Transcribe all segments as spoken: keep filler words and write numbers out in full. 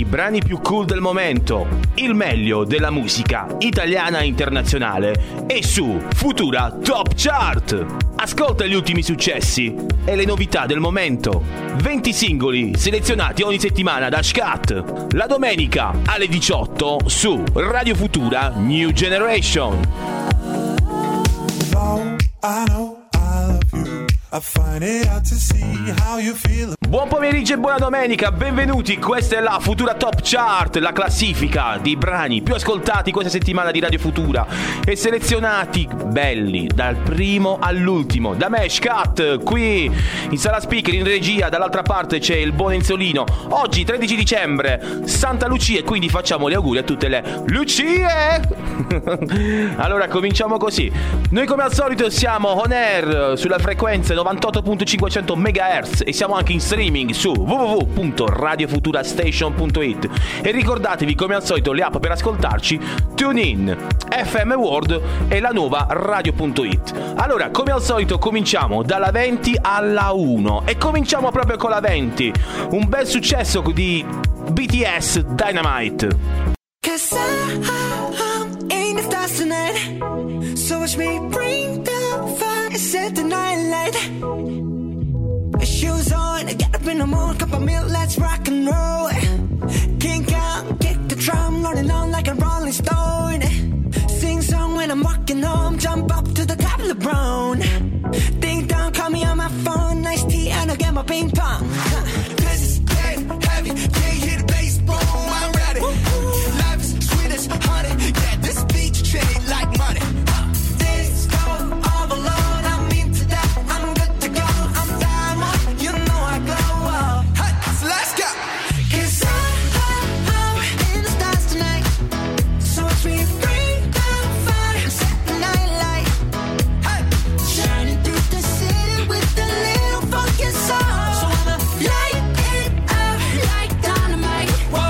i brani più cool del momento, il meglio della musica italiana e internazionale è su Futura Top Chart. Ascolta gli ultimi successi e le novità del momento. venti singoli selezionati ogni settimana da Scat. La domenica alle diciotto su Radio Futura New Generation. I know I love you. I find it hard to see how you feel. Buon pomeriggio e buona domenica, benvenuti, questa è la Futura Top Chart, la classifica dei brani più ascoltati questa settimana di Radio Futura e selezionati belli dal primo all'ultimo da me, Scat, qui in sala speaker, in regia, dall'altra parte c'è il buon Enzolino. Oggi tredici dicembre, Santa Lucia, e quindi facciamo gli auguri a tutte le Lucie. Allora cominciamo così. Noi come al solito siamo on air sulla frequenza novantotto virgola cinquecento megahertz e siamo anche in streaming su w w w punto radio futura station punto it. E ricordatevi come al solito le app per ascoltarci: TuneIn, F M World e la nuova radio punto it. Allora come al solito cominciamo dalla venti alla uno e cominciamo proprio con la venti, un bel successo di B T S, Dynamite. Cause I'm in the stars tonight, so watch me bring the fire, set the night light. Shoes on, get up in the mood, cup of milk, let's rock and roll. Kink out, kick the drum, rolling on like a rolling stone. Sing song when I'm walking home, jump up to the top of the brown. Ding dong, call me on my phone, nice tea and I'll get my ping pong. This is getting heavy, can't hear the bass, boom, I'm ready. Life is sweet as honey, yeah, this beach chain like money. This go all alone, I'm into that, I'm good to go, I'm diamond, you know I glow up. Hey, so let's go. Cause I'm, I'm in the stars tonight, so watch me bring the fire, set the night light. Hey, shining through the city with a little funky soul. So I'ma light it up like dynamite.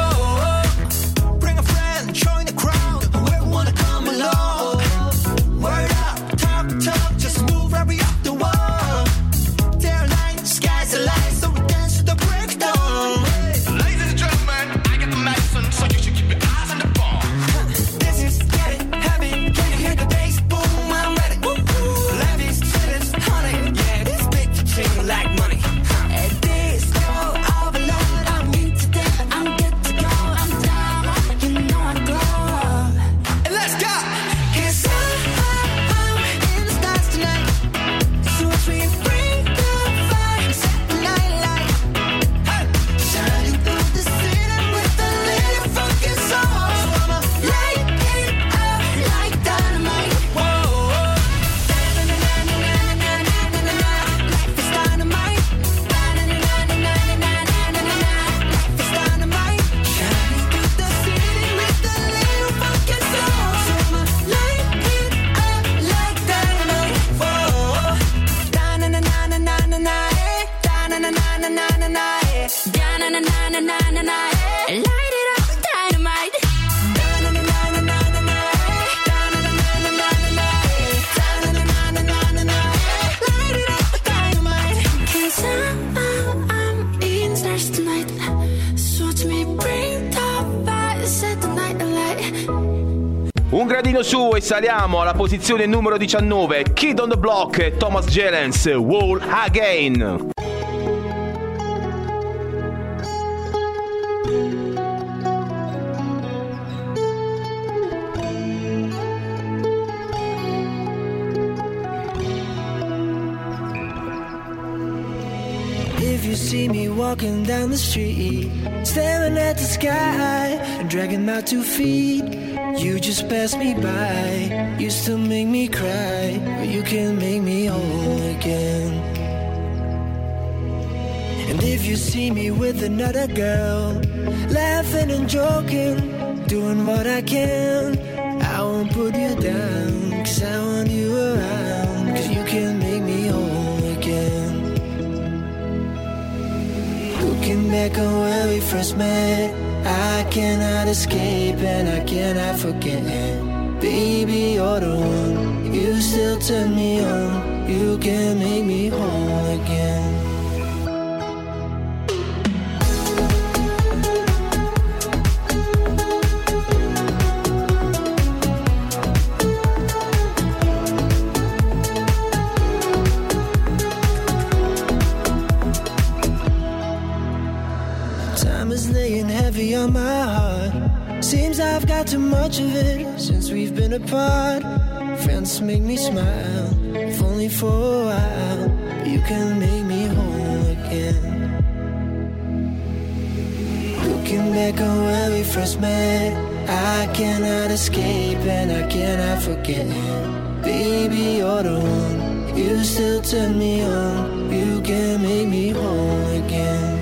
Whoa, bring a friend, join the crowd, whoever wanna come along. Word up, talk, talk, just move right up the wall. Day or night, sky's the light, so we dance to the break of dawn. Ladies and gentlemen, I got the medicine, so you should keep your eyes on the ball. This is getting heavy, can you hear the bass? Boom, I'm ready. Life is sweet as honey, yeah, this bitch chain like money. And this go overload, I'm into that, I'm good to go, I'm down, you know I glow. And let's go! Cause I'm in the stars tonight, so watch me bring the fire, set the night light. Hey, Shining through the city with a little funky soul. So I'ma light it up like dynamite. whoa, Life is dynamite. Life is dynamite. Shining through the city with a little funky soul. So I'ma light it up like dynamite. Whoa. Da-na-na-na-na-na-na-na, eh. Da-na-na-na-na-na-na, eh. Da-na-na-na-na-na-na, eh. Light it up, dynamite. Da-na-na-na-na-na-na, eh. Da-na-na-na-na-na-na, eh. Da-na-na-na-na-na-na, eh. Light it up, dynamite. 'Cause I'm, I'm in stars tonight, so watch me bring the fire, set the night alight. Un gradino su e saliamo alla posizione numero diciannove, Kid on the Block e Thomas Jelens, Wall Again. If you see me walking down the street, staring at the sky and dragging my two feet, you just pass me by. You still make me cry, but you can make me whole again. And if you see me with another girl, laughing and joking, doing what I can, I won't put you down, 'cause I want you around, 'cause you can make me whole again. Looking back on where we first met, I cannot escape and I cannot forget. Baby, you're the one, you still turn me on, you can make me whole again. heavy on my heart. Seems I've got too much of it since we've been apart. Friends make me smile, if only for a while. You can make me whole again. Looking back on when we first met, I cannot escape and I cannot forget. Baby, you're the one, you still turn me on. You can make me whole again.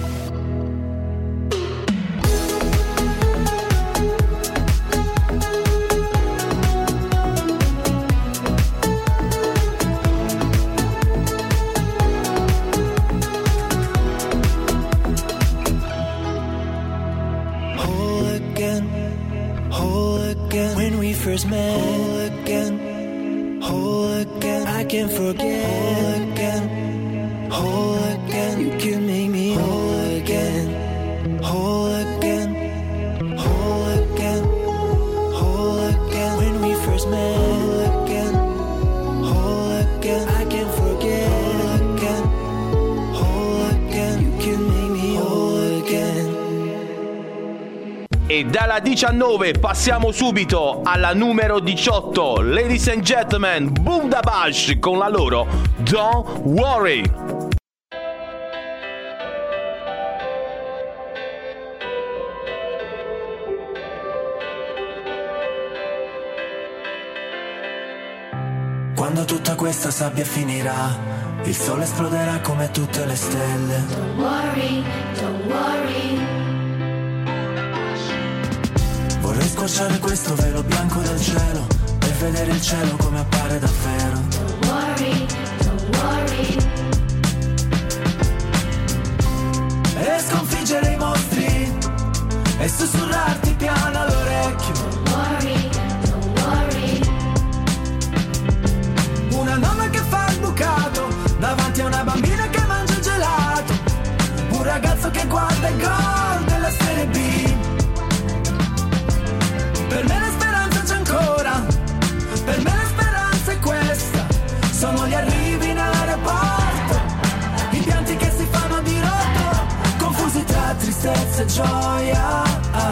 First met, whole again, whole again. I can't forget, whole again, whole again. You can make me whole again, whole again, whole again, whole again. When we first met, whole again, whole again. I can't forget, whole again, whole again. You can make me whole again. E dalla diciannove passiamo subito alla numero diciotto. Ladies and gentlemen, Bundabash con la loro Don't Worry. Quando tutta questa sabbia finirà, il sole esploderà come tutte le stelle. Don't worry, don't worry. Vorrei squarciare questo velo bianco del cielo e vedere il cielo come appare davvero. Don't worry, don't worry. E sconfiggere i mostri e sussurrarti piano all'orecchio. Don't worry, don't worry. Una nonna che fa il bucato davanti a una bambina che mangia il gelato. Un ragazzo che guarda il gol della Serie B. Per me la speranza c'è ancora, per me la speranza è questa. Sono gli arrivi in aeroporto, i pianti che si fanno di rotto, confusi tra tristezza e gioia.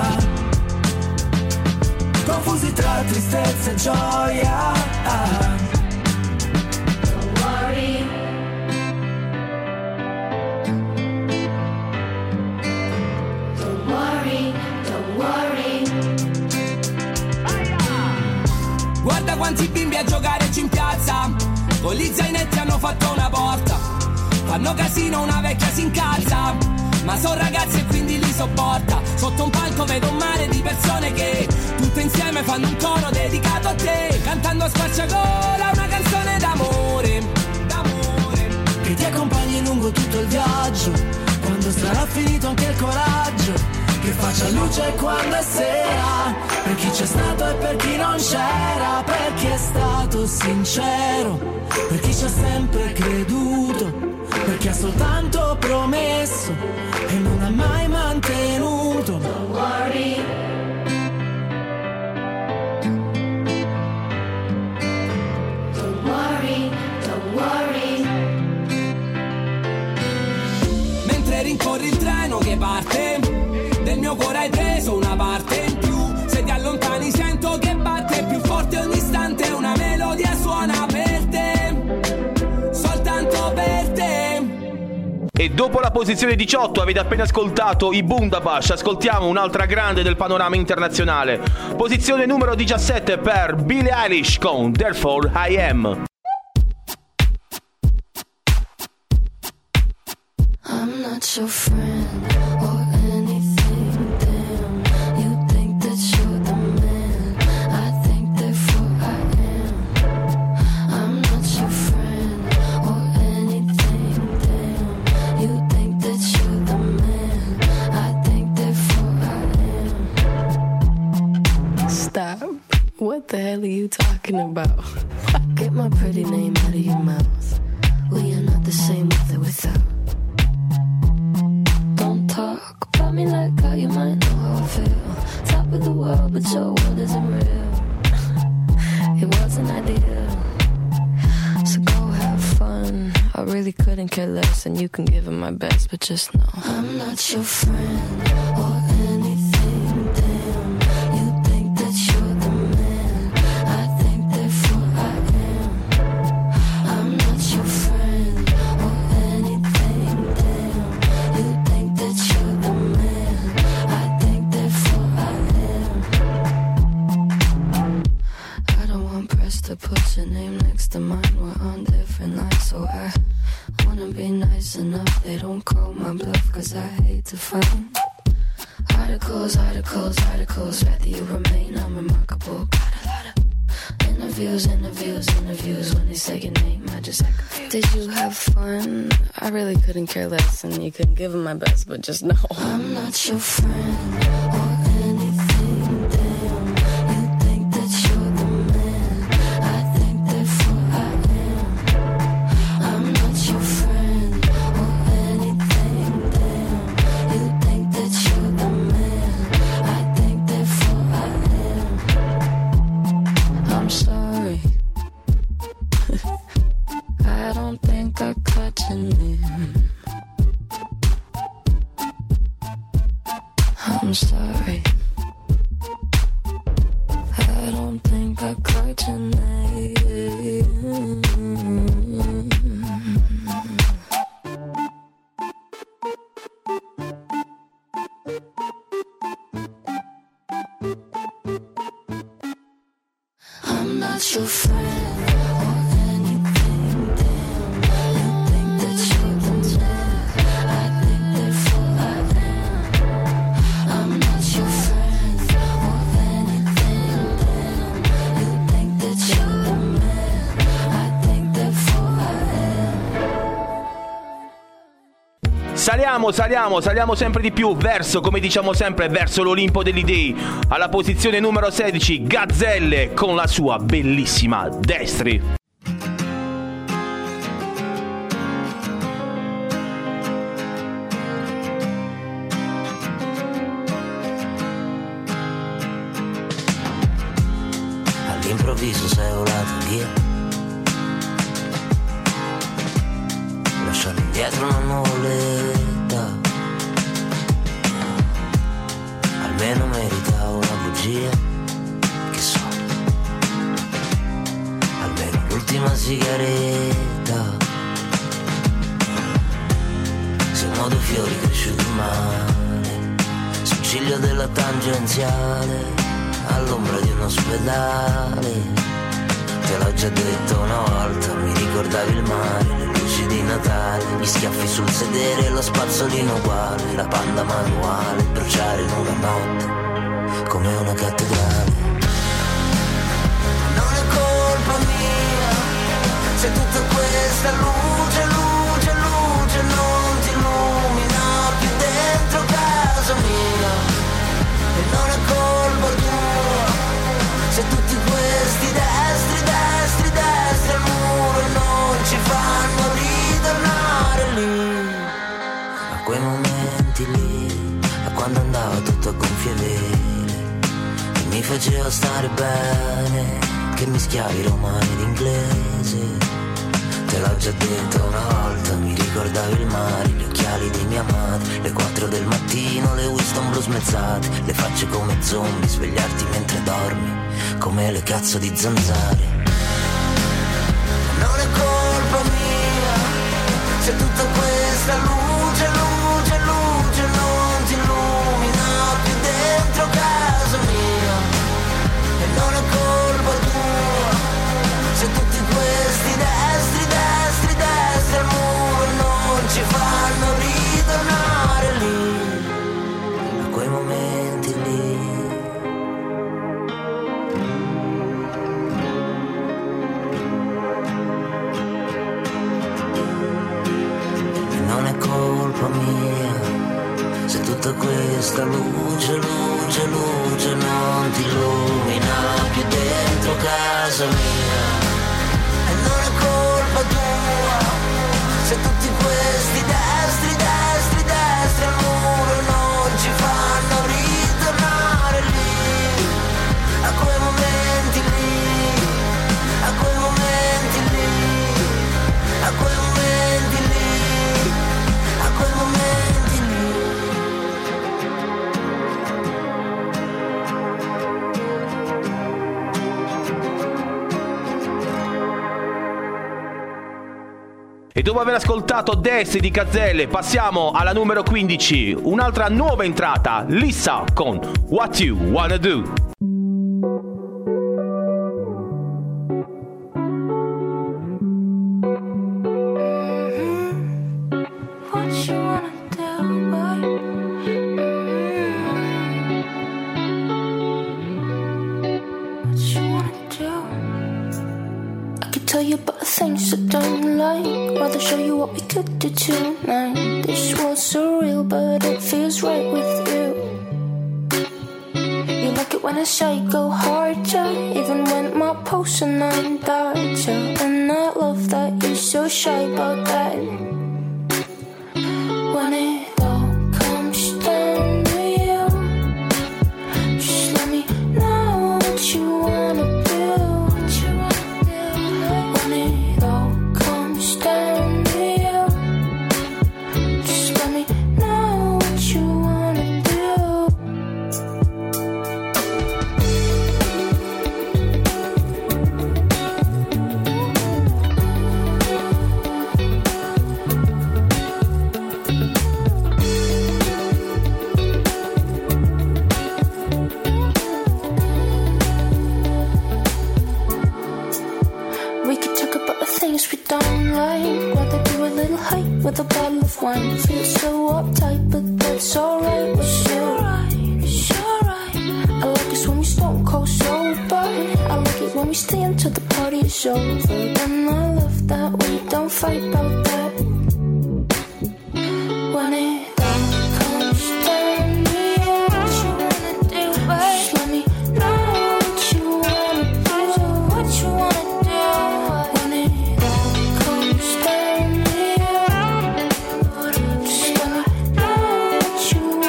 Confusi tra tristezza e gioia. Don't worry. Don't worry, don't worry. Guarda quanti bimbi a giocarecci in piazza, con gli zainetti hanno fatto una porta. Fanno casino, una vecchia si incazza, ma sono ragazzi e quindi li sopporta. Sotto un palco vedo un mare di persone che tutte insieme fanno un coro dedicato a te, cantando a squarciagola una canzone d'amore, d'amore, che ti accompagni lungo tutto il viaggio, quando sarà finito anche il coraggio. Che faccia luce quando è sera, per chi c'è stato e per chi non c'era, per chi è stato sincero, per chi ci ha sempre creduto, per chi ha soltanto promesso e non ha mai mantenuto. Don't worry. Don't worry, don't worry. mentre rincorri il treno che parte, del mio cuore hai preso una parte in più. Se ti allontani sento che batte più forte ogni istante, una melodia suona per te, soltanto per te. E dopo la posizione diciotto avete appena ascoltato i Bundabash, ascoltiamo un'altra grande del panorama internazionale. Posizione numero diciassette per Billie Eilish con Therefore I Am. I'm not your friend or anything, damn. You think that you're the man, I think therefore I am. I'm not your friend or anything, damn. You think that you're the man, I think therefore I am. Stop. What the hell are you talking about? Get my pretty name out of your mouth. We are not the same with or without. Talk about me like how you might know how I feel. Top of the world, but your world isn't real. It wasn't ideal, so go have fun. I really couldn't care less, and you can give it my best, but just know I'm not your friend or anything. don't call my bluff, cause I hate to frown. Articles, articles, articles, rather you remain unremarkable. Got a lot of interviews, interviews, interviews. When they say your name, I just act confused. Did you have fun? I really couldn't care less, and you couldn't give them my best, but just know I'm not your friend or anything. Damn, you think that you're the man. I think therefore I am. I'm not your friend or anything. Damn, you think that you're the man. I think therefore I am. I'm sorry. I don't think I caught your name. I'm sorry. I don't think I caught your name. I'm not your friend or anything. Damn, you think that you're the man. I think therefore I am. I'm not your friend or anything. Damn, you think that you're the man. I think therefore I am. Saliamo, saliamo, saliamo sempre di più verso, come diciamo sempre, verso l'Olimpo degli dei. Alla posizione numero sedici, Gazzelle con la sua bellissima Destri. All'improvviso sei volato via, lasciando indietro una nuvoletta. Almeno meritavo una bugia, che so, almeno l'ultima sigaretta. Siamo due fiori cresciuti male, sul ciglio della tangenziale, all'ombra di un ospedale. Te l'ho già detto una volta, mi ricordavi il mare, le luci di Natale, gli schiaffi sul sedere, lo spazzolino uguale, la panda manuale, bruciare in una notte come una cattedrale. Non è colpa mia se tutta questa luce, luce, luce non ti illumina più dentro casa mia. E non è colpa tua se tutti questi destri, destri, destri al muro non ci fanno ritornare lì. A quei momenti lì, a quando andava tutto a gonfie vele e mi faceva stare bene, che mischiavi romano ed inglese. Te l'ho già detto una volta, mi ricordavi il mare, gli occhiali di mia madre, le quattro del mattino, le Winston blu smezzate, le facce come zombie, svegliarti mentre dormi come le cazzo di zanzare. Non è colpa mia se tutta questa luce, luce, luce non ti illumina più dentro casa mia. E non è colpa tua se tutti questi destri, destri, destri al muro non ci fanno ritornare lì. A quei momenti lì. Non è colpa mia se tutta questa luce, luce, luce non ti illumina più dentro casa mia. E non è colpa tua se tutti questi destri, destri, destri al muro non ci fanno ritornare lì. A quei momenti lì, a quei momenti lì, a quei momenti lì, a quei momenti lì. E dopo aver ascoltato Destri di Gazzelle, passiamo alla numero quindici, un'altra nuova entrata, Lissa con What You Wanna Do. What you want things I don't like. Rather show you what we could do tonight. This was surreal, but it feels right with you. You like it when I say go harder, even when my posts are nine darker. And I love that you're so shy about that. When it all comes down to you, just let me know what you wanna do. What you wanna do. When it all comes down to you, just let me know what you wanna do. We could talk about the things we don't like. Rather do a little hike with a bottle of wine. Feel so uptight, but that's alright with you. It's alright. I like it when we stone cold sober. I like it when we stay until the party is over. And I love that we don't fight about that. When it all comes down to you, what you wanna do, babe? Just let me know what you wanna do. What you wanna do. When it all comes down to you, just let me know what you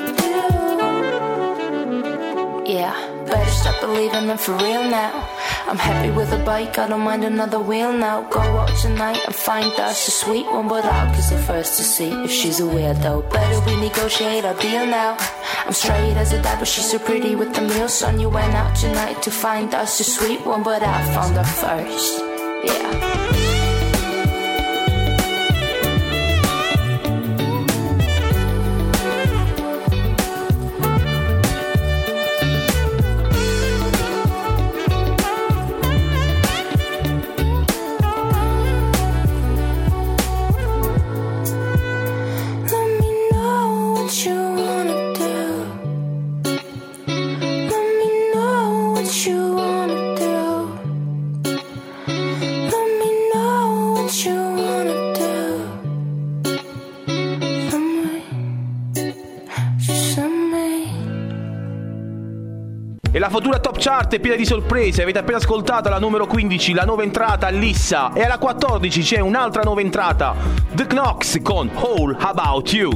wanna do. Yeah, better stop believing them for real now. I'm happy with a bike, I don't mind another wheel now. Go out tonight and find us a sweet one, but out cause the first to see if she's a weirdo. Better we negotiate our deal now. I'm straight as a die, but she's so pretty with the meal. Son, you went out tonight to find us a sweet one, but I found her first. Yeah. Let me know what you wanna do. Let me know what you wanna do. Let me know what you wanna do. For me, just for me. E la futura Top Chart è piena di sorprese. Avete appena ascoltato la numero quindici, la nuova entrata Lissa. E alla quattordici c'è un'altra nuova entrata, The Knox con All About You.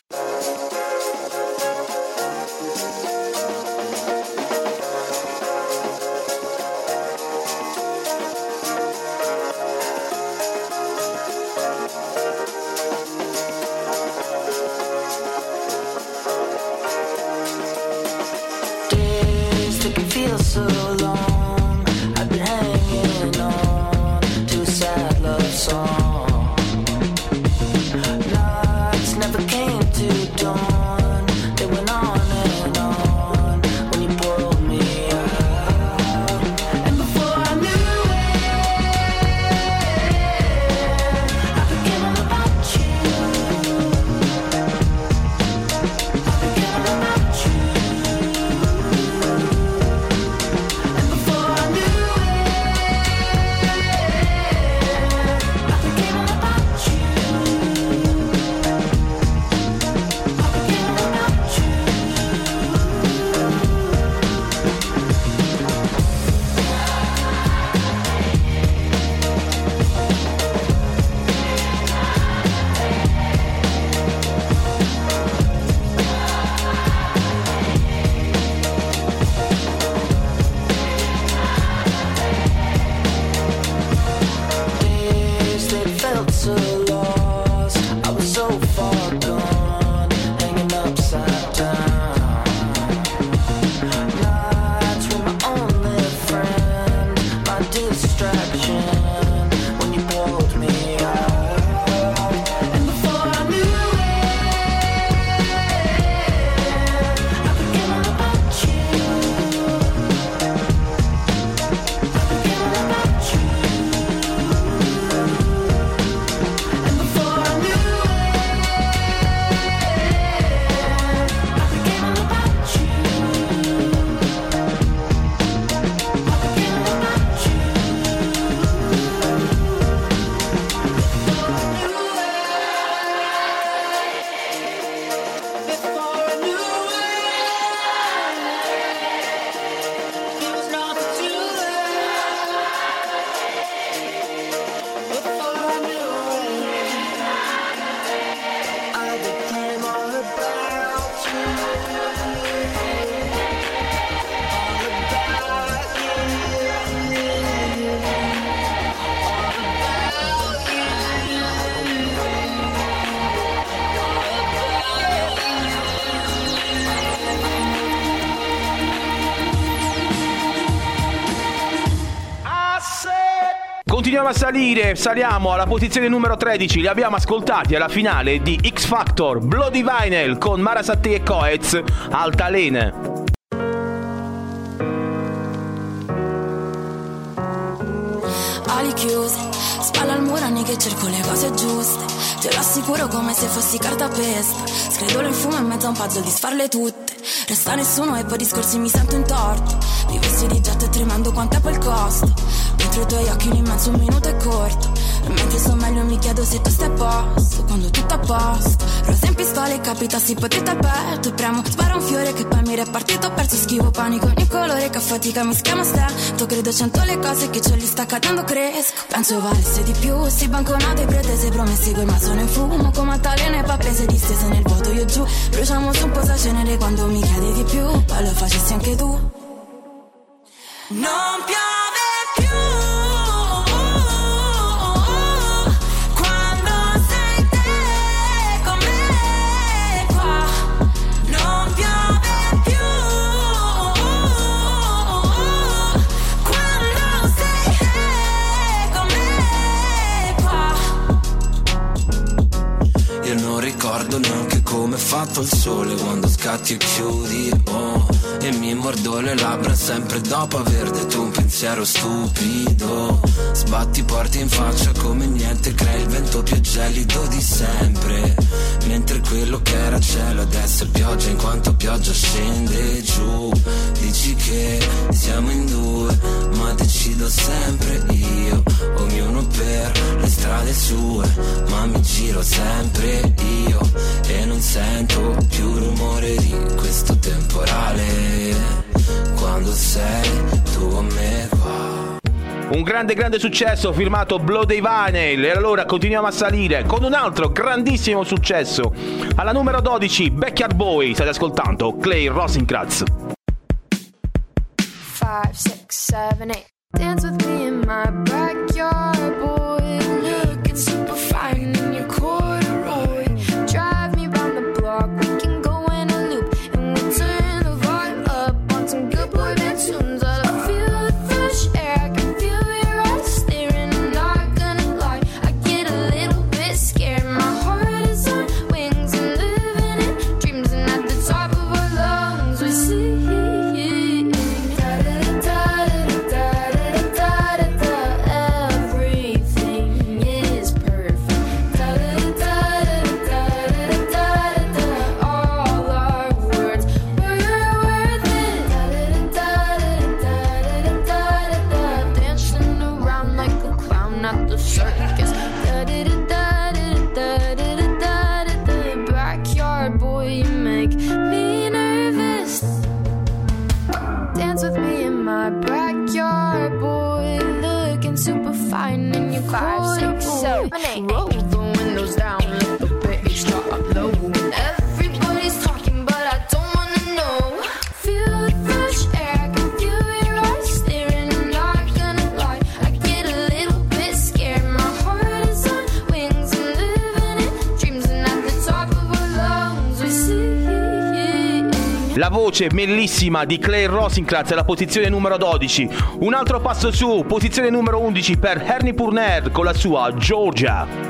Days that can feel so long. I've been hanging on to a sad love song. Nights never came to dawn. They went on and on when you pulled me out. And before I knew it, I forget all about you. I forget all about you. And before I knew it, I forget all about you. I forget continuiamo a salire, saliamo alla posizione numero tredici. Li abbiamo ascoltati alla finale di X Factor, Bloody Vinyl con Mara Sattei e Coez, Altalene. Ali chiuse, spalla al muro anni che cerco le cose giuste. Te lo assicuro come se fossi cartapesta. Scredolo in fumo in mezzo a un puzzle di sfarle tutte. Resta nessuno e poi discorsi mi sento in torto. Vivessi di getto e tremando quanto è poi il costo. Dentro i tuoi occhi un immenso un minuto è corto. E mentre sto meglio mi chiedo se tu stai a posto. Quando tutto a posto, rosa in pistola e capitassi potete al petto. E premo, spara un fiore che poi mi repartito. Ho perso schivo panico, ogni colore che a fatica mi schiama stento. Credo cento le cose che ce li sta cadendo cresco. Penso valesse di più, si banconate pretese promessi quel ma sono in fumo. Come altalene pappese distese nel vuoto io giù. Bruciamo su un po' sa cenere quando mi chiedi di più. Poi lo facessi anche tu. Non piove più quando sei te con me qua. Non piove più quando sei te con me qua. Io non ricordo neanche come è fatto il sole quando scatti e chiudi, oh. E mi mordo le labbra sempre dopo aver detto un pensiero stupido. Sbatti porti in faccia come niente, crei il vento più gelido di sempre. Mentre quello che era cielo adesso è pioggia in quanto pioggia scende giù. Dici che siamo in due ma decido sempre io. Ognuno per le strade sue ma mi giro sempre io. E non sento più il rumore di questo temporale quando sei tu a me qua. Un grande grande successo firmato Bloody Vinyl. E allora continuiamo a salire con un altro grandissimo successo. Alla numero dodici, Backyard Boy. State ascoltando Clay Rosenkranz. Five, six, seven, eight. Dance with me in my backyard, boy. Looking super fine in your corduroy. Drive me round the block, we can go in a loop. And we'll turn the vibe up on some good boy band tunes. I feel the fresh air, I can feel your eyes staring. I'm not gonna lie, I get a little bit scared. My heart is on wings and living in dreams. And at the top of our lungs we sing. Everything is perfect. All our words were worth it. Dancing around like a clown at the circus. Backyard boy, you make me nervous. Dance with me in my backyard, boy. Looking super fine in your car. Roll the windows down, let the bass drop low. Everybody's talking, but I don't wanna know. Feel the fresh air, I can feel your eyes staring. I'm not gonna lie, I get a little bit scared. My heart is on wings and living in dreams. And at the top of our lungs we sing. La voce bellissima di Clay Rosenkranz alla posizione numero dodici. Un altro passo su, posizione numero undici per Ernie Purner con la sua Georgia.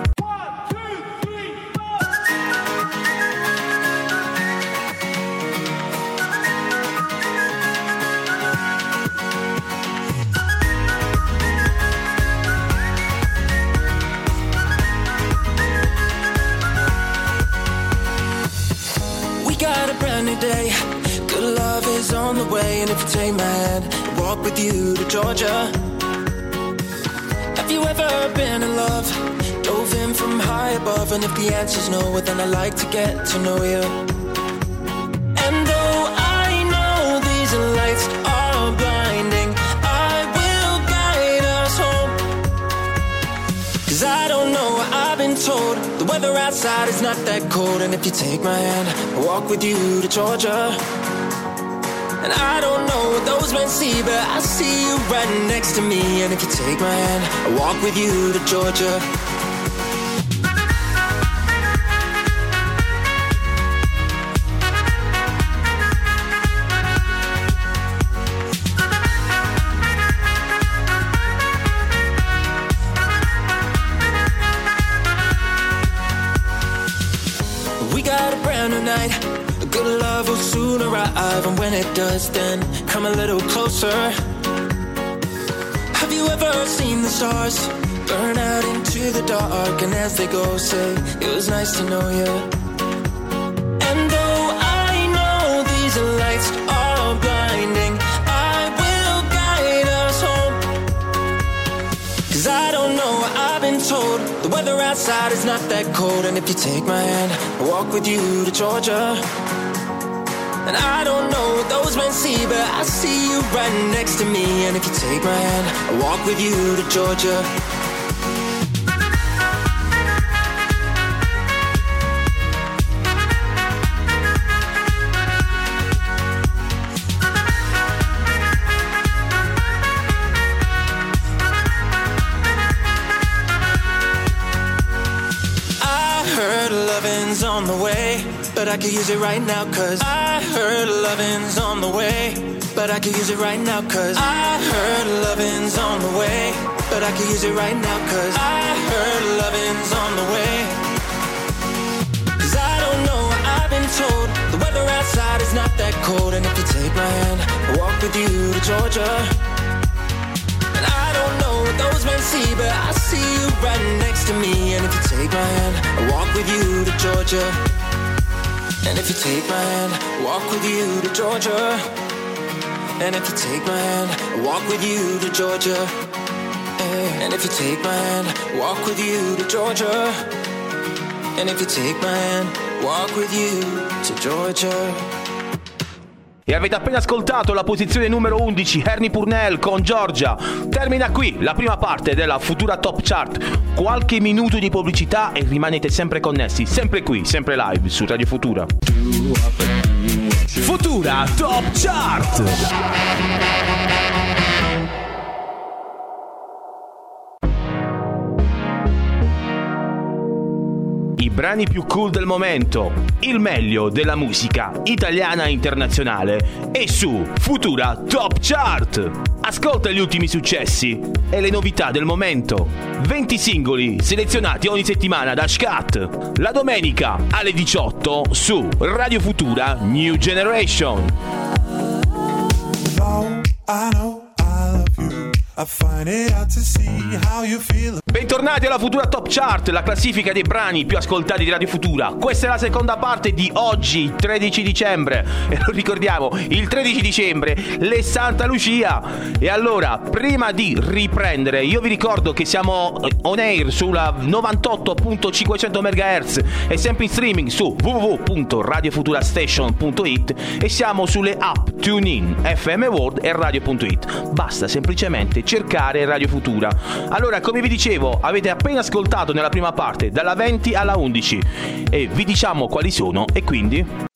We got a brand new day. Good love is on the way. And if you take my hand, I'll walk with you to Georgia. Have you ever been in love? Dove in from high above. And if the answer's no, well then I'd like to get to know you. And though I know these lights are blinding, I will guide us home. Cause I don't know, I've been told the weather outside is not that cold. And if you take my hand, I'll walk with you to Georgia. And I don't know what those men see, but I see you right next to me. And if you take my hand, I'll walk with you to Georgia. start a brand new night. Good love will soon arrive, and when it does, then come a little closer. Have you ever seen the stars burn out into the dark, and as they go, say, it was nice to know you. And though I know these lights are blinding, I will guide us home. 'Cause I don't know, I've been told the weather outside is not that cold. And if you take my hand, I'll walk with you to Georgia. And I don't know what those men see, but I see you right next to me. And if you take my hand, I'll walk with you to Georgia. On the way, but I could use it right now, 'cause I heard lovin's on the way, but I could use it right now, 'cause I heard lovin's on the way, but I could use it right now, 'cause I heard lovin's on the way. 'Cause I don't know, I've been told the weather outside is not that cold. And if you take my hand, I'll walk with you to Georgia. And I don't know what those men see, but I see you right next to me. And if you take my hand, I'll walk with you to Georgia. And if you take my hand, I'll walk with you to Georgia. And if you take my hand, I'll walk with you to Georgia. And if you take my hand, I'll walk with you to Georgia. And if you take my hand, I'll walk with you to Georgia. E avete appena ascoltato la posizione numero undici, Ernie Purnell con Georgia. Termina qui la prima parte della Futura Top Chart. Qualche minuto di pubblicità e rimanete sempre connessi, sempre qui, sempre live su Radio Futura. Futura Top Chart. I brani più cool del momento, il meglio della musica italiana e internazionale è su Futura Top Chart. Ascolta gli ultimi successi e le novità del momento. venti singoli selezionati ogni settimana da Scat. La domenica alle diciotto su Radio Futura New Generation. Though I know I love you, I find it hard to see how you feel. Bentornati alla Futura Top Chart, la classifica dei brani più ascoltati di Radio Futura. Questa è la seconda parte di oggi, tredici dicembre. E lo ricordiamo, il tredici dicembre, le Santa Lucia. E allora, prima di riprendere, io vi ricordo che siamo on air sulla novantotto virgola cinquecento megahertz e sempre in streaming su w w w punto radio futura station punto i t e siamo sulle app TuneIn, F M World e radio punto i t. Basta semplicemente cercare Radio Futura. Allora, come vi dicevo, avete appena ascoltato nella prima parte dalla venti alla undici e vi diciamo quali sono e quindi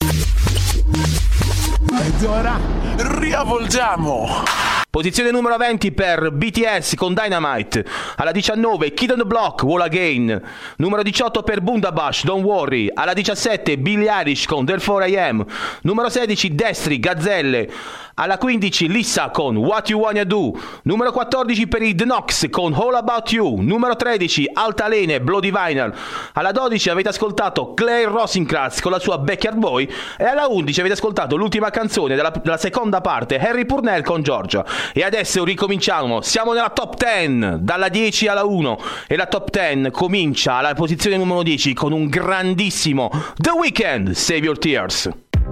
ed ora riavvolgiamo. Posizione numero venti per B T S con Dynamite. Alla diciannove Kid on the Block, Wall Again. Numero diciotto per Bundabash, Don't Worry. Alla diciassette Billie Eilish con Therefore I Am. Numero sedici Destri, Gazzelle. Alla quindici Lissa con What You Wanna Do. Numero quattordici per i The Knox con All About You. Numero tredici Altalene, Bloody Vinyl. Alla dodici avete ascoltato Claire Rosencrantz con la sua Backyard Boy. E alla undici avete ascoltato l'ultima canzone della, della seconda parte, Harry Purnell con Georgia. E adesso ricominciamo, siamo nella top dieci, dalla dieci alla uno. E la top dieci comincia alla posizione numero dieci con un grandissimo The Weeknd, Save Your Tears.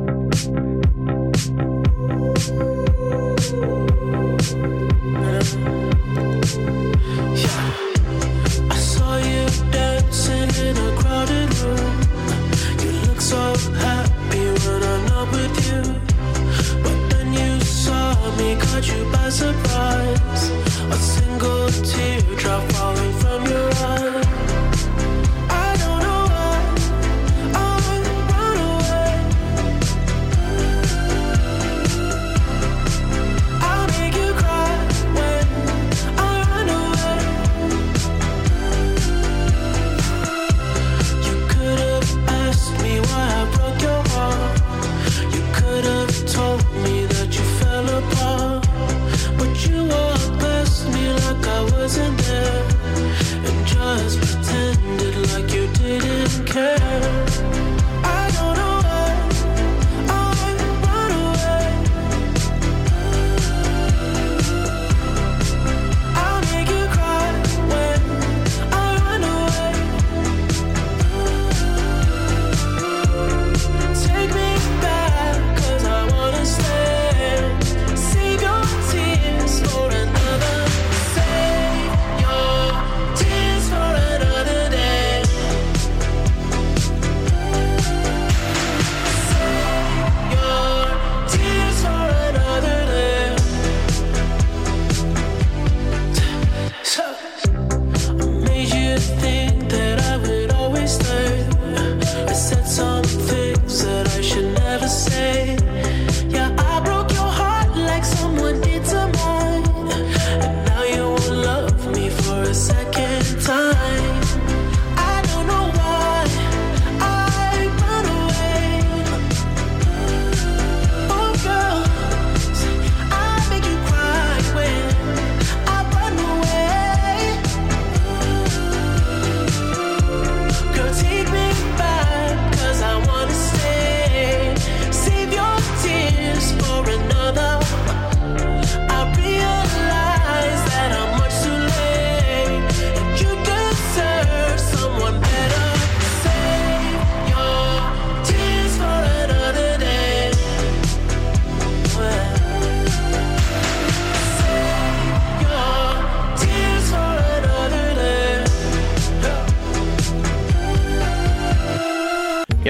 I saw you dancing in a crowded room. You look so happy when I'm not with you. But then you saw me, caught you by surprise. A single teardrop falling from your eye. I don't know why I run away. I'll make you cry when I run away. You could have asked me why I broke your heart. You could have told me that you fell apart. But you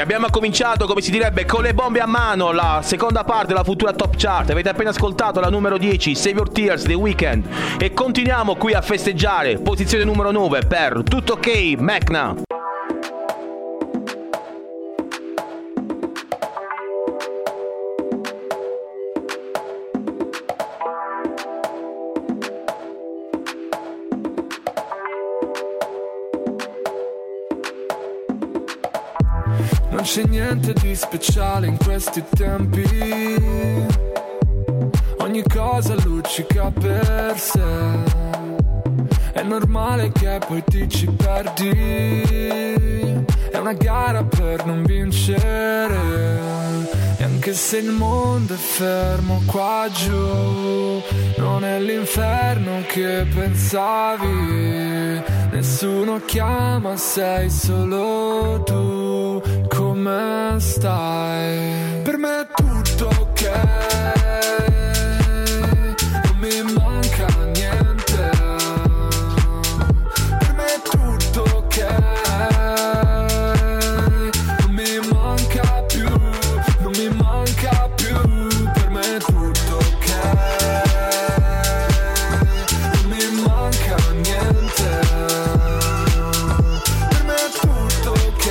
abbiamo cominciato, come si direbbe, con le bombe a mano, la seconda parte della Futura Top Chart. Avete appena ascoltato la numero dieci, Save Your Tears, The Weeknd. E continuiamo qui a festeggiare, posizione numero nove per Tutto Ok, Mecna. Non c'è niente di speciale in questi tempi, ogni cosa luccica per sé, è normale che poi ti ci perdi, è una gara per non vincere, e anche se il mondo è fermo qua giù, non è l'inferno che pensavi, nessuno chiama, sei solo tu. Come stai? Per me è tutto ok, non mi manca niente. Per me è tutto ok, non mi manca più, non mi manca più. Per me è tutto ok, non mi manca niente. Per me è tutto ok,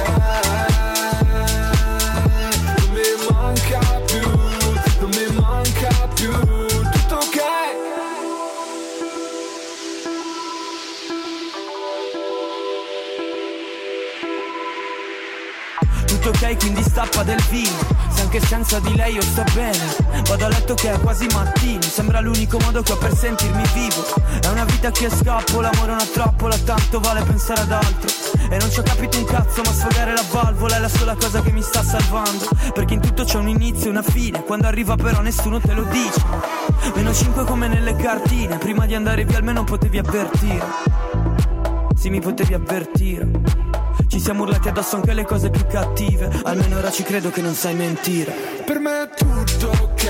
tutto ok, quindi stappa del vino, se anche senza di lei io sto bene. Vado a letto che è quasi mattino, sembra l'unico modo che ho per sentirmi vivo. È una vita che scappo, l'amore è una trappola, tanto vale pensare ad altro. E non ci ho capito un cazzo, ma sfogare la valvola è la sola cosa che mi sta salvando. Perché in tutto c'è un inizio e una fine, quando arriva però nessuno te lo dice. Meno cinque come nelle cartine, prima di andare via almeno potevi avvertire. Sì, mi potevi avvertire. Ci siamo urlati addosso anche le cose più cattive, almeno ora ci credo che non sai mentire. Per me è tutto ok,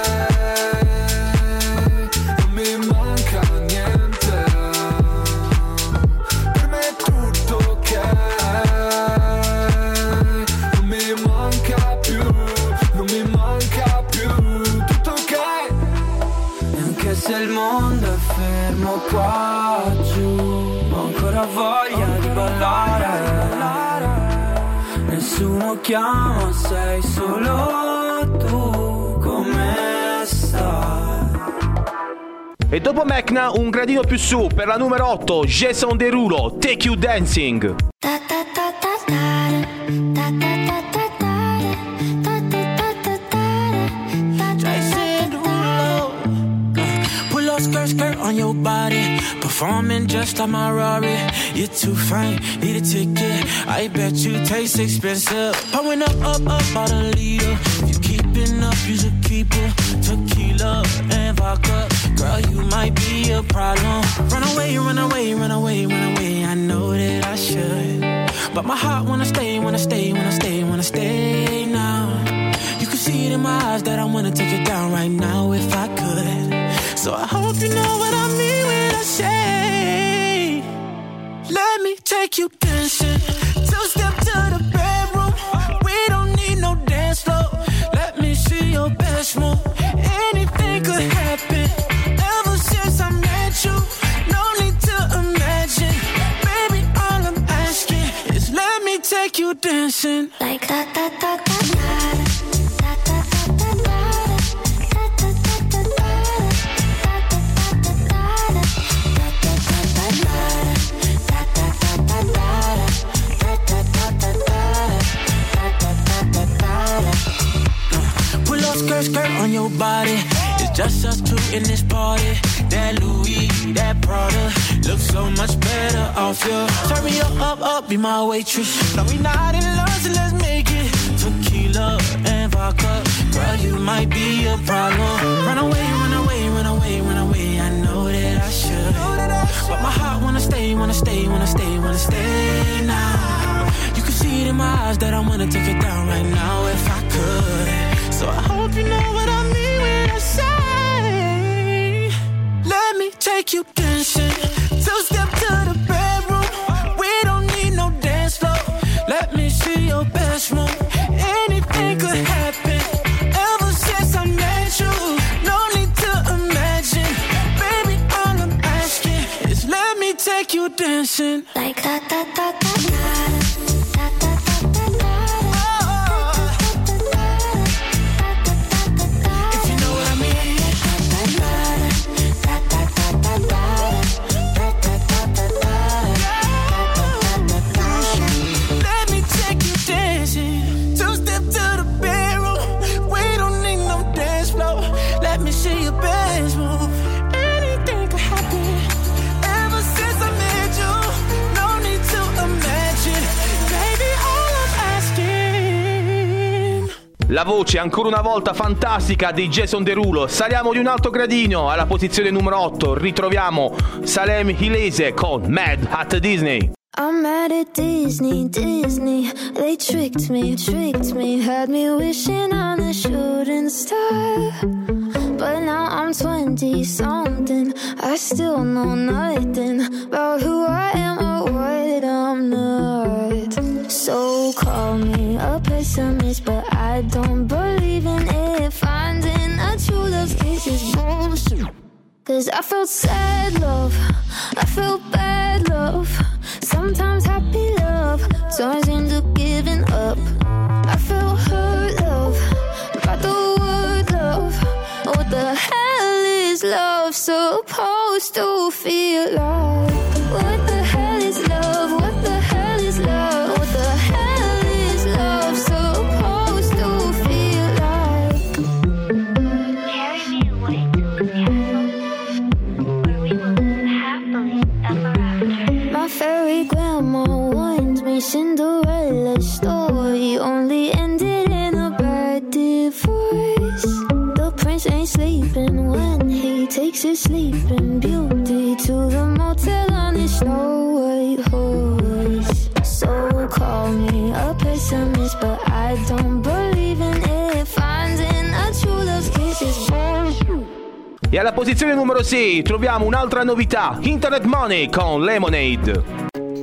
non mi manca niente. Per me è tutto ok, non mi manca più, non mi manca più. Tutto ok. E anche se il mondo è fermo qua giù, ho ancora voglia di ballare. Nessuno chiama, sei solo tu. Come stai? E dopo Mecna un gradino più su per la numero otto, Jason Derulo, Take You Dancing. Skirt, skirt on your body, performing just like my Rari. You're too fine, need a ticket. I bet you taste expensive. Pouring up, up, up, about a liter. If you keeping up, you should keep it. Tequila and vodka, girl, you might be a problem. Run away, run away, run away, run away. I know that I should, but my heart wanna stay, wanna stay, wanna stay, wanna stay now. You can see it in my eyes that I wanna take it down right now if I could. So I hope you know what I mean when I say, let me take you dancing. Two step to the bedroom. We don't need no dance floor. Let me see your best move. Anything could happen. Ever since I met you, no need to imagine. Baby, all I'm asking is let me take you dancing. Like da da da da da. Skirt, skirt on your body. It's just us two in this party. That Louis, that Prada looks so much better off you. Turn me up, up, up, be my waitress. No, we not in love, so let's make it. Tequila and vodka, girl, you might be a problem. Run away, run away, run away, run away. I know that I should, but my heart wanna stay, wanna stay, wanna stay, wanna stay now. You can see it in my eyes that I wanna take it down right now if I could. So I hope you know what I mean when I say, let me take you dancing. Two step to the bedroom. We don't need no dance floor. Let me see your best move. anything could happen. Ever since I met you, no need to imagine. Baby, all I'm asking is let me take you dancing. Like da da da da da. La voce ancora una volta fantastica di Jason Derulo. Saliamo di un alto gradino alla posizione numero otto. Ritroviamo Salem Hilese con Mad at Disney. I'm mad at Disney, Disney. They tricked me, tricked me. Had me wishing on a shooting star. But now I'm twenty-something. I still know nothing about who I am or what I'm not. So call me a pessimist, but I don't believe in it. Finding a true love's kiss is bullshit. Cause I felt sad love, I felt bad love. Sometimes happy love turns into giving up. I felt hurt love, by the word love. What the hell is love supposed to feel like? What the hell is love? What the hell is love? What the hell is love supposed to feel like? Carry me away to the castle where we will live happily ever after. My fairy grandma warned me Cinderella's story only ended in a bad divorce. The prince ain't sleeping when he takes his sleeping beauty to the motel on his snow white horse. So call me a pessimist, but I don't believe in it. Finding a true love's kiss is bullshit. E alla posizione numero sei troviamo un'altra novità, Internet Money con Lemonade.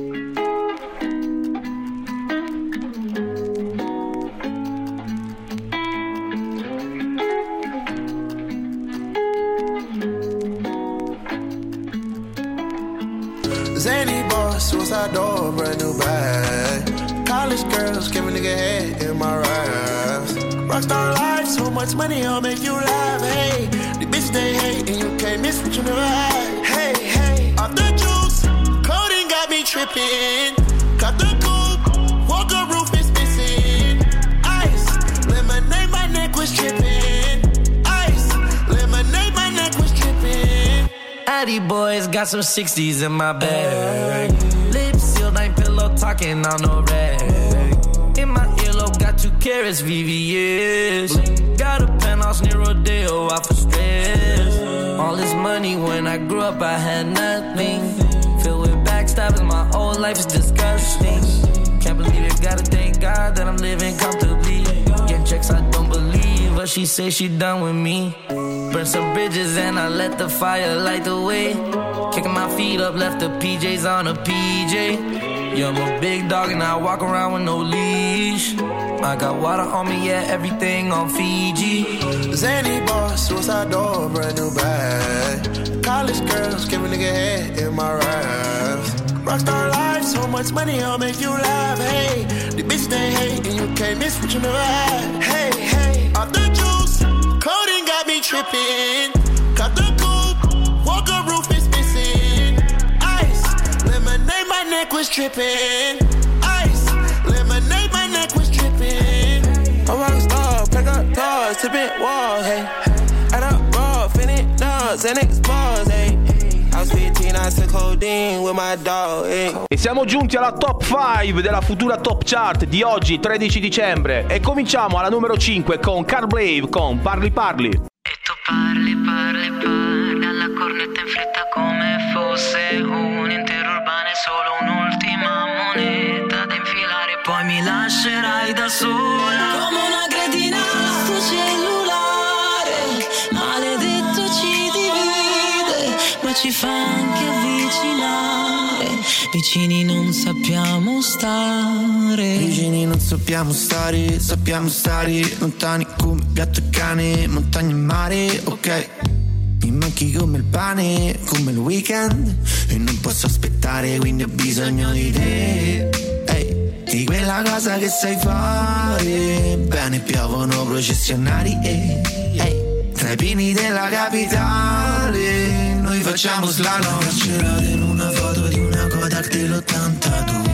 Zany boss, suicide door, brand new bag. College girls, give a nigga head in my raps. Rockstar life, so much money, I'll make you laugh. Hey, the bitch they hate, and you can't miss what you never had. Hey, hey, off the juice, coding got me tripping. Got the coupe, walker roof is missing. Ice, lemonade, my neck was tripping. Ice, lemonade, my neck was tripping. Addy boys got some sixties in my bag. Lips sealed, ain't pillow talking on no rag. In my earlobe got two carats, V V S. Got a penthouse near Rodeo, out for stress. All this money when I grew up, I had nothing. Filled with backstabbing, my whole life is disgusting. Can't believe it, gotta thank God that I'm living comfortably. Get checks, I don't believe, but she say she done with me. Burn some bridges and I let the fire light the way. Kicking my feet up, left the P Js on a P J. Yeah, I'm a big dog and I walk around with no leash. I got water on me, yeah, everything on Fiji. Zany boss, suicide door, brand new bag. College girls, give a nigga head in my raps. Rockstar life, so much money, I'll make you laugh. Hey, the bitch they hate, and you can't miss what you never had. Hey, hey, off the juice, coding got me tripping. Got the coupe, walker roof is missing. Ice, lemonade, my neck was tripping. Ice, lemonade, my neck was tripping. I'm a rockstar, pack up doors, tipping walls, hey. Add up raw, finish dogs, and expose, hey. I was fifteen, I took codeine with my dog, hey. E siamo giunti alla top cinque della futura top chart di oggi, tredici dicembre. E cominciamo alla numero cinque con Carl Brave con Parli Parli. Parli, parli, parli alla cornetta in fretta come fosse un intero urbano e solo un'ultima moneta da infilare. Poi mi lascerai da sola come una cretina sto cellulare. Maledetto ci divide, ma ci fa anche avvicinare. vicini non sappiamo stare. Vicini non sappiamo stare, sappiamo stare lontani come gatto e cane, montagna e mare, ok. Mi manchi come il pane, come il weekend, e non posso aspettare, quindi ho bisogno di te. Ehi, di quella cosa che sai fare, bene piovono processionari, ehi, ehi. Tra i pini della capitale, noi facciamo slalom. Carcerato in una foto di una Kodak dell'ottantadue.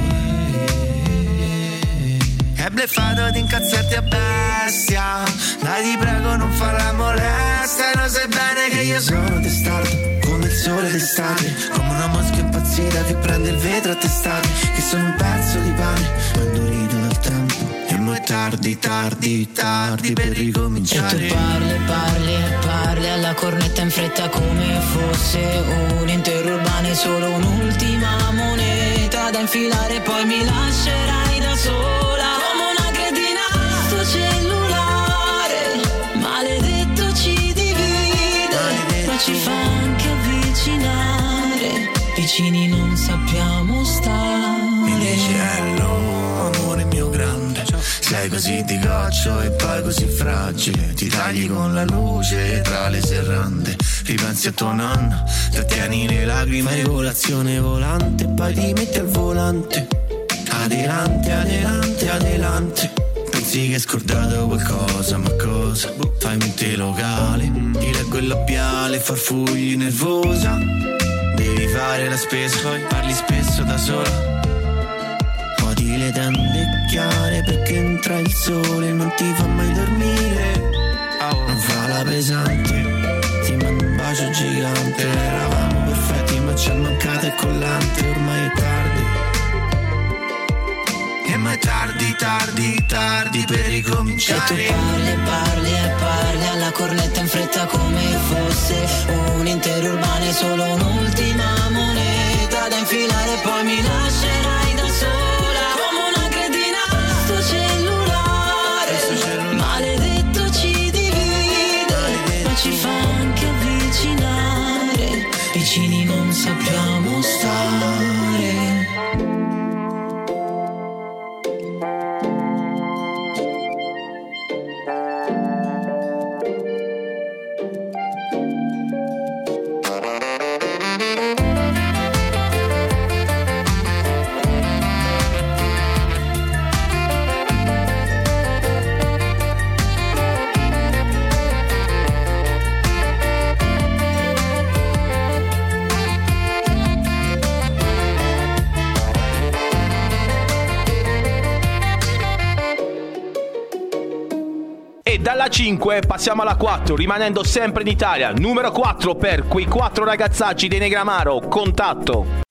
È bleffato di incazzarti a bestia, dai ti prego non fare molestia. Lo sai bene che io sono testardo, come il sole d'estate, come una mosca impazzita che prende il vetro a testate. Che sono un pezzo di pane, ma indurito dal tempo, e mo' è tardi, tardi, tardi per ricominciare. E tu parli, parli e parli alla cornetta in fretta come fosse un intero urbano, solo un'ultima moneta da infilare, poi mi lascerai da sola come una cretina. Sto cellulare maledetto ci divide, maledetto. Ma ci fa anche avvicinare, vicini non sappiamo stare. Mi dici hello, amore mio grande, sei così di goccio e poi così fragile. Ti tagli con la luce tra le serrande, ripensi a tuo nonno, trattieni le lacrime, colazione volante, poi ti metti al volante. Adelante, adelante, adelante. Pensi che hai scordato qualcosa, ma cosa? Fai mente locale, ti leggo il labiale, farfugli nervosa. Devi fare la spesa, poi parli spesso da sola. Odi le tende chiare perché entra il sole, non ti fa mai dormire. Non fa la pesante, ti mando un bacio gigante. Eravamo perfetti ma ci è mancato il collante. Ormai è tardi, e ma è tardi, tardi, tardi per ricominciare. E tu parli, parli e parli alla cornetta in fretta come fosse un intero urbano, solo un'ultima moneta da infilare, poi mi lascerai da sola come una cretina. Sto cellulare, Sto cellulare. maledetto ci divide, maledetto. Ma ci fa anche avvicinare, vicini non sappiamo stare. Dalla cinque passiamo alla quattro, rimanendo sempre in Italia. Numero quattro per quei quattro ragazzacci dei Negramaro, Contatto.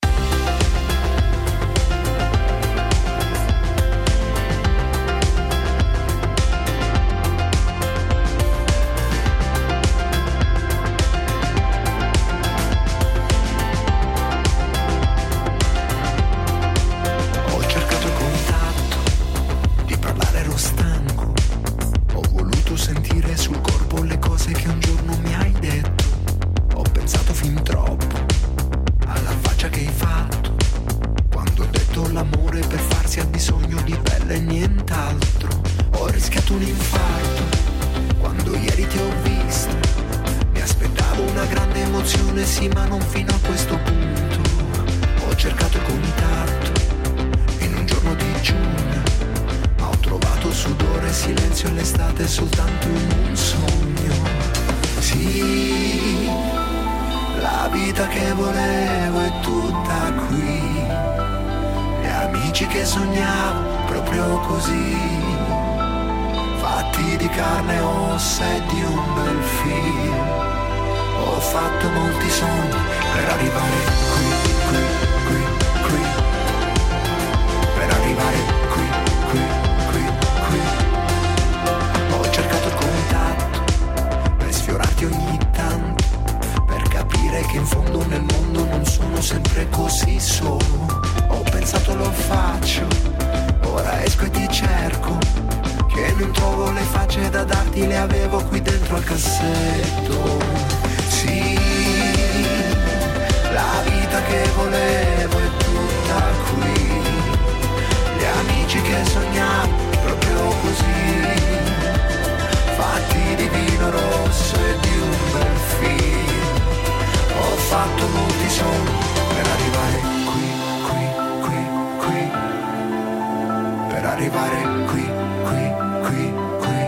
La vita che volevo è tutta qui, gli amici che sogniamo proprio così, fatti di vino rosso e di un bel film. Ho fatto molti sogni per arrivare qui, qui, qui, qui, per arrivare qui, qui, qui, qui,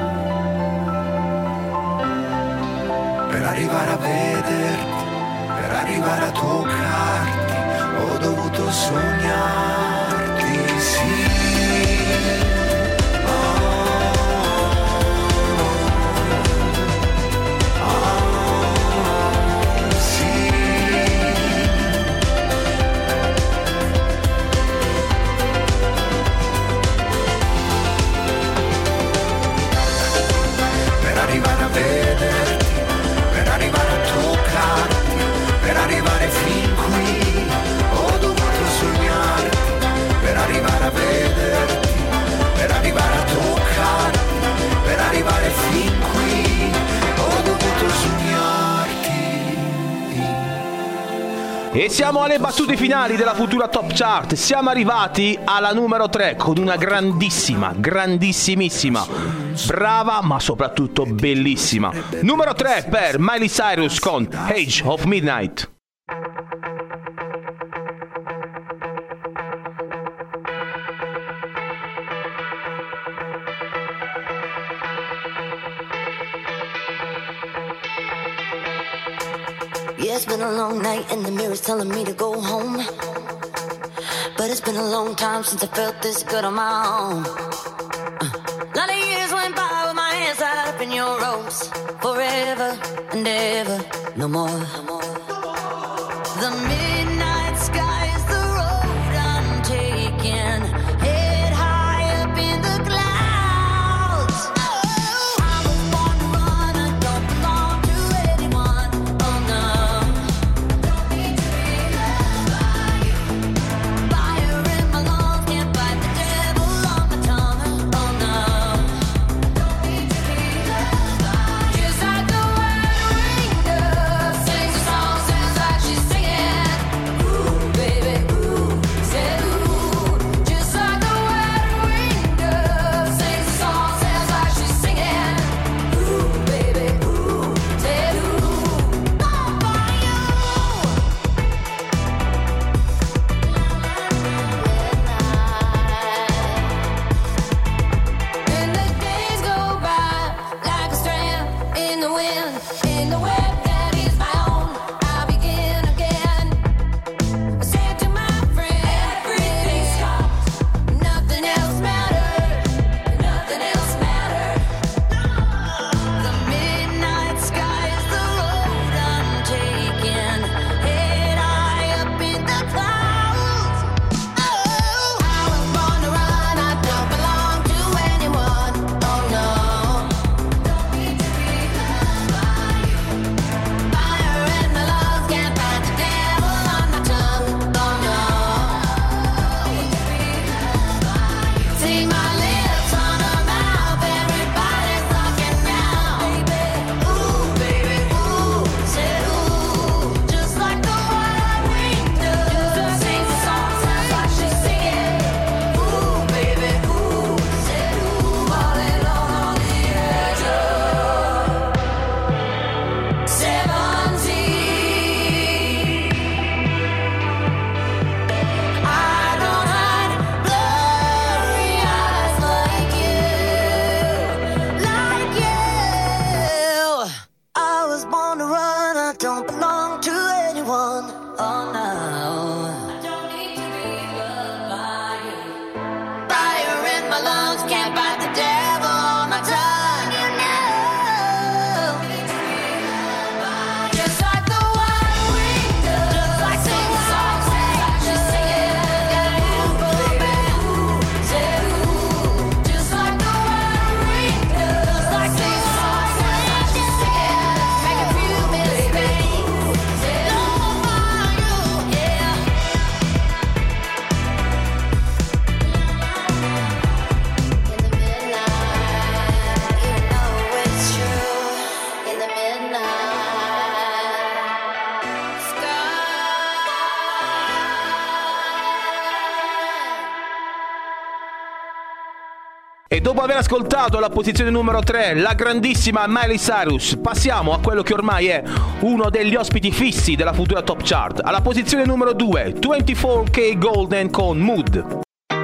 per arrivare a vederti, per arrivare a toccarti, ho dovuto sognarti, sì. Per arrivare a vederti, per arrivare a toccarti, per arrivare fin qui, ho dovuto sognarti, per arrivare a vederti, per arrivare a toccarti, per arrivare fin qui, ho dovuto sognarti. E siamo alle battute finali della Futura Top Chart. Siamo arrivati alla numero tre con una grandissima, grandissimissima, brava ma soprattutto bellissima numero tre per Miley Cyrus con Age of Midnight. Yeah, it's been a long night and the mirror's telling me to go home. But it's been a long time since I felt this good on my own. Uh, lot of years went by with my hands tied up in your ropes. Forever and ever, no more. No more. The midnight sky is the road I'm taking. Head high up in the clouds. Oh, I was born to run, I don't belong to anyone. Oh no. Don't need to be loved by you. Fire in my lungs, can't fight the devil on my tongue. Oh no. Don't need to be loved by you. Just like the white winged dove sings a song, sounds like she's singing. E dopo aver ascoltato la posizione numero tre, la grandissima Miley Cyrus, passiamo a quello che ormai è uno degli ospiti fissi della Futura Top Chart. Alla posizione numero due, ventiquattro K Golden con Mood.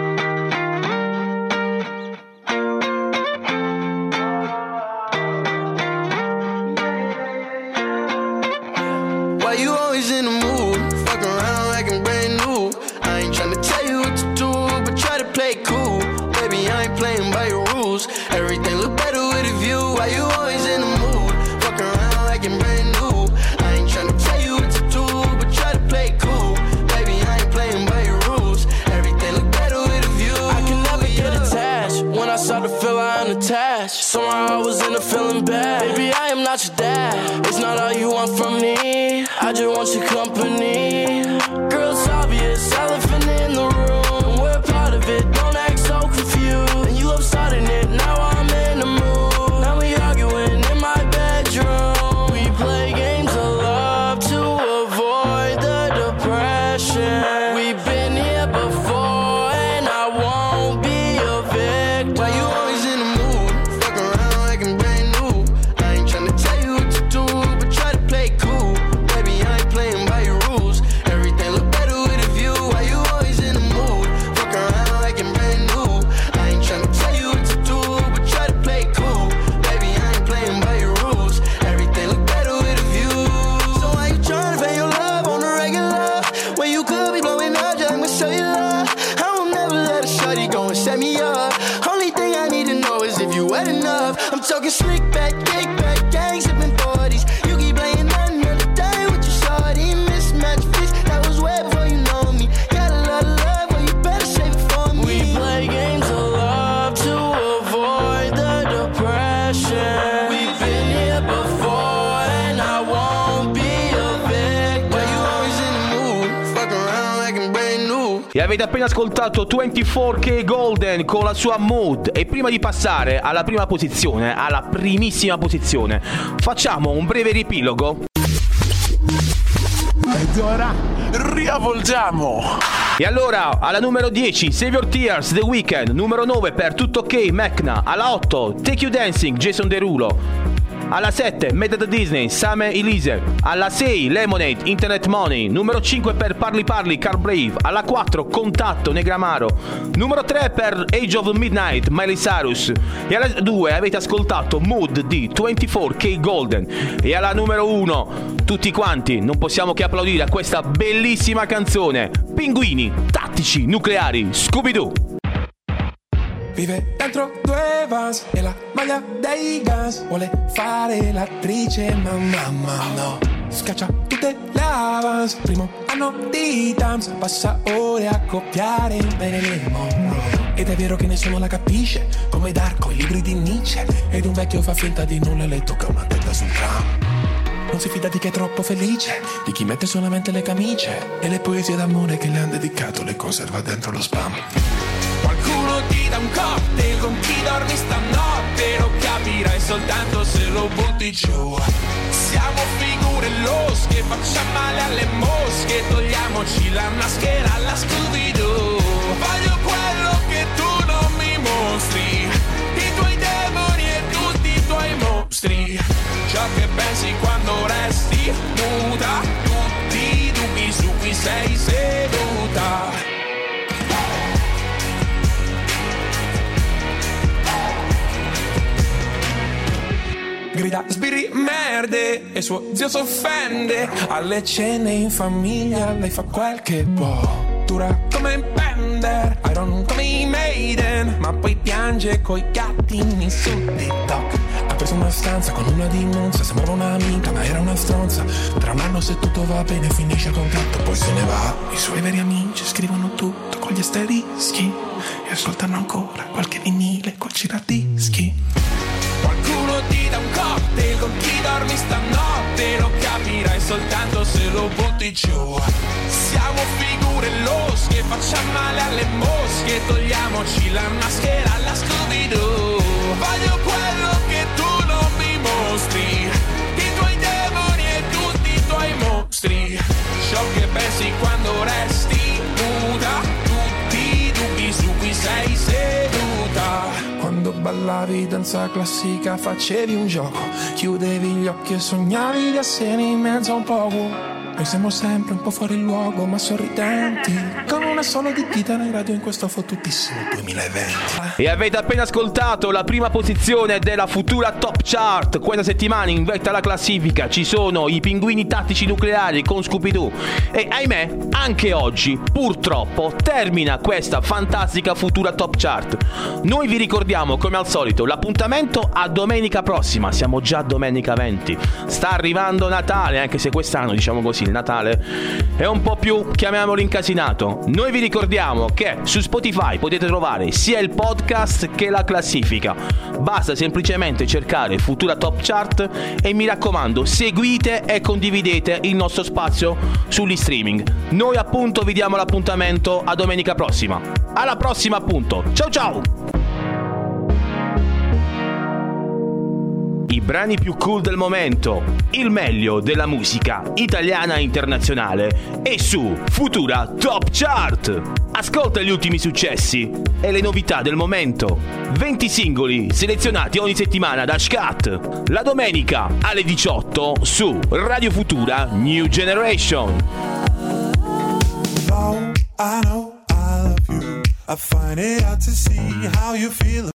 Why you always in the mood? Fuck around like I'm brand new. I ain't tryna tell you what to do, but try to play cool. Baby, I ain't playing by your rules. Everything look better with a view. Why you always in the mood? Fuck around like I'm brand new. I ain't tryna tell you what to do, but try to play cool. Baby, I ain't playing by your rules. Everything look better with a view. I can never get attached. When I start to feel I unattached, somehow I was in a feeling bad. Baby, I am not your dad. It's not all you want from me. I just want your company. Girl, it's obvious, elephant in the room. We're part of it, don't act so confused. And you love starting it, now I'm in the mood. Now we arguing in my bedroom. We play games of love to avoid the depression. We've been here before and I won't be a victim. Why you always in the mood? Fuck around like I'm brand new. I ain't tryna tell you what to do, but try to play cool. Baby, I ain't playing by your rules. Everything look better with a view. Why you always in the mood? Fuck around like I'm brand new. I ain't tryna tell you what to do, but try to play cool. Baby, I ain't playing by your rules. Everything look better with a view. So why you tryna pay your love on the regular when you could be blowing up just with cellular? I won't never let a shorty go and set me up. Only thing I need to know is if you wet enough. I'm talking slick back, kick back, gang sipping forties. You keep playing another day with your shorty. Mismatch fish, that was way before you know me. Got a lot of love, well you better save it for me. We play games of love to avoid the depression. We've been here before and I won't be a victim. Why you always in the mood? Fuck around like I'm brand new. E avete appena ascoltato ventiquattro K Golden con la sua Mood. E prima di passare alla prima posizione, alla primissima posizione, facciamo un breve riepilogo. Ed ora riavvolgiamo. E allora, alla numero dieci, Save Your Tears, The Weeknd. Numero nove, Per Tutto Ok, Mecna. Alla otto, Take You Dancing, Jason Derulo. Alla sette, Made at Disney, Sam Elise. Alla sei, Lemonade, Internet Money. Numero cinque per Parli Parli, Car Brave. Alla quattro, Contatto, Negramaro. Numero tre per Age of Midnight, Miley Cyrus. E alla due avete ascoltato Mood di ventiquattro K Golden. E alla numero uno, tutti quanti non possiamo che applaudire a questa bellissima canzone. Pinguini, tattici, nucleari, Scooby-Doo. Vive dentro due vans e la maglia dei Guns. Vuole fare l'attrice ma mamma no. Scaccia tutte le avance. Primo anno di Tams. Passa ore a copiare bene le Monroe. Ed è vero che nessuno la capisce, come Darko, i libri di Nietzsche. Ed un vecchio fa finta di nulla e le tocca una testa sul tram. Non si fida di chi è troppo felice, di chi mette solamente le camicie. E le poesie d'amore che le han dedicato le conserva dentro lo spam. Qualcuno ti dà un cocktail con chi dormi stanotte. Lo capirai soltanto se lo butti giù. Siamo figure losche, facciamo male alle mosche. Togliamoci la maschera alla Scooby-Doo. Voglio quello che tu non mi mostri, i tuoi demoni e tutti i tuoi mostri. Ciò che pensi quando resti muta, tutti i dubbi su cui sei seduta. Grida sbirri merde e suo zio s'offende. Alle cene in famiglia lei fa quel che può. Dura come Bender, Iron come i Maiden. Ma poi piange coi gattini su TikTok. Ha preso una stanza con una di Monza. Sembrava un'amica ma era una stronza. Tra un anno se tutto va bene finisce il contratto, poi se ne va. I suoi veri amici scrivono tutto con gli asterischi e ascoltano ancora qualche vinile col giradischi. Qualcuno ti dà un cocktail con chi dormi stanotte. Lo capirai soltanto se lo butti giù. Siamo figure losche, facciamo male alle mosche. Togliamoci la maschera alla Scooby-Doo. Voglio quello che tu non mi mostri, i tuoi demoni e tutti i tuoi mostri. Ciò che pensi quando resti nuda, tutti i dubbi su cui sei seduta. Quando senza classifica facevi un gioco, chiudevi gli occhi e sognavi di essere in mezzo a un poco. Noi siamo sempre un po' fuori luogo ma sorridenti, con una sola di chitarra in radio in questo fottutissimo duemilaventi. E avete appena ascoltato la prima posizione della Futura Top Chart. Questa settimana in vetta alla classifica ci sono i Pinguini Tattici Nucleari con Scooby-Doo. E ahimè, anche oggi, purtroppo, termina questa fantastica Futura Top Chart. Noi vi ricordiamo, come al solito, l'appuntamento a domenica prossima. Siamo già domenica venti. Sta arrivando Natale, anche se quest'anno, diciamo così, il Natale è un po' più, chiamiamolo, incasinato. Noi vi ricordiamo che su Spotify potete trovare sia il podcast che la classifica. Basta semplicemente cercare Futura Top Chart e mi raccomando, seguite e condividete il nostro spazio sugli streaming. Noi appunto vi diamo l'appuntamento a domenica prossima. Alla prossima appunto. Ciao ciao! I brani più cool del momento, il meglio della musica italiana e internazionale è su Futura Top Chart. Ascolta gli ultimi successi e le novità del momento. venti singoli selezionati ogni settimana da Scat. La domenica alle diciotto su Radio Futura New Generation. Though I know I love you, I find it hard to see how you feel.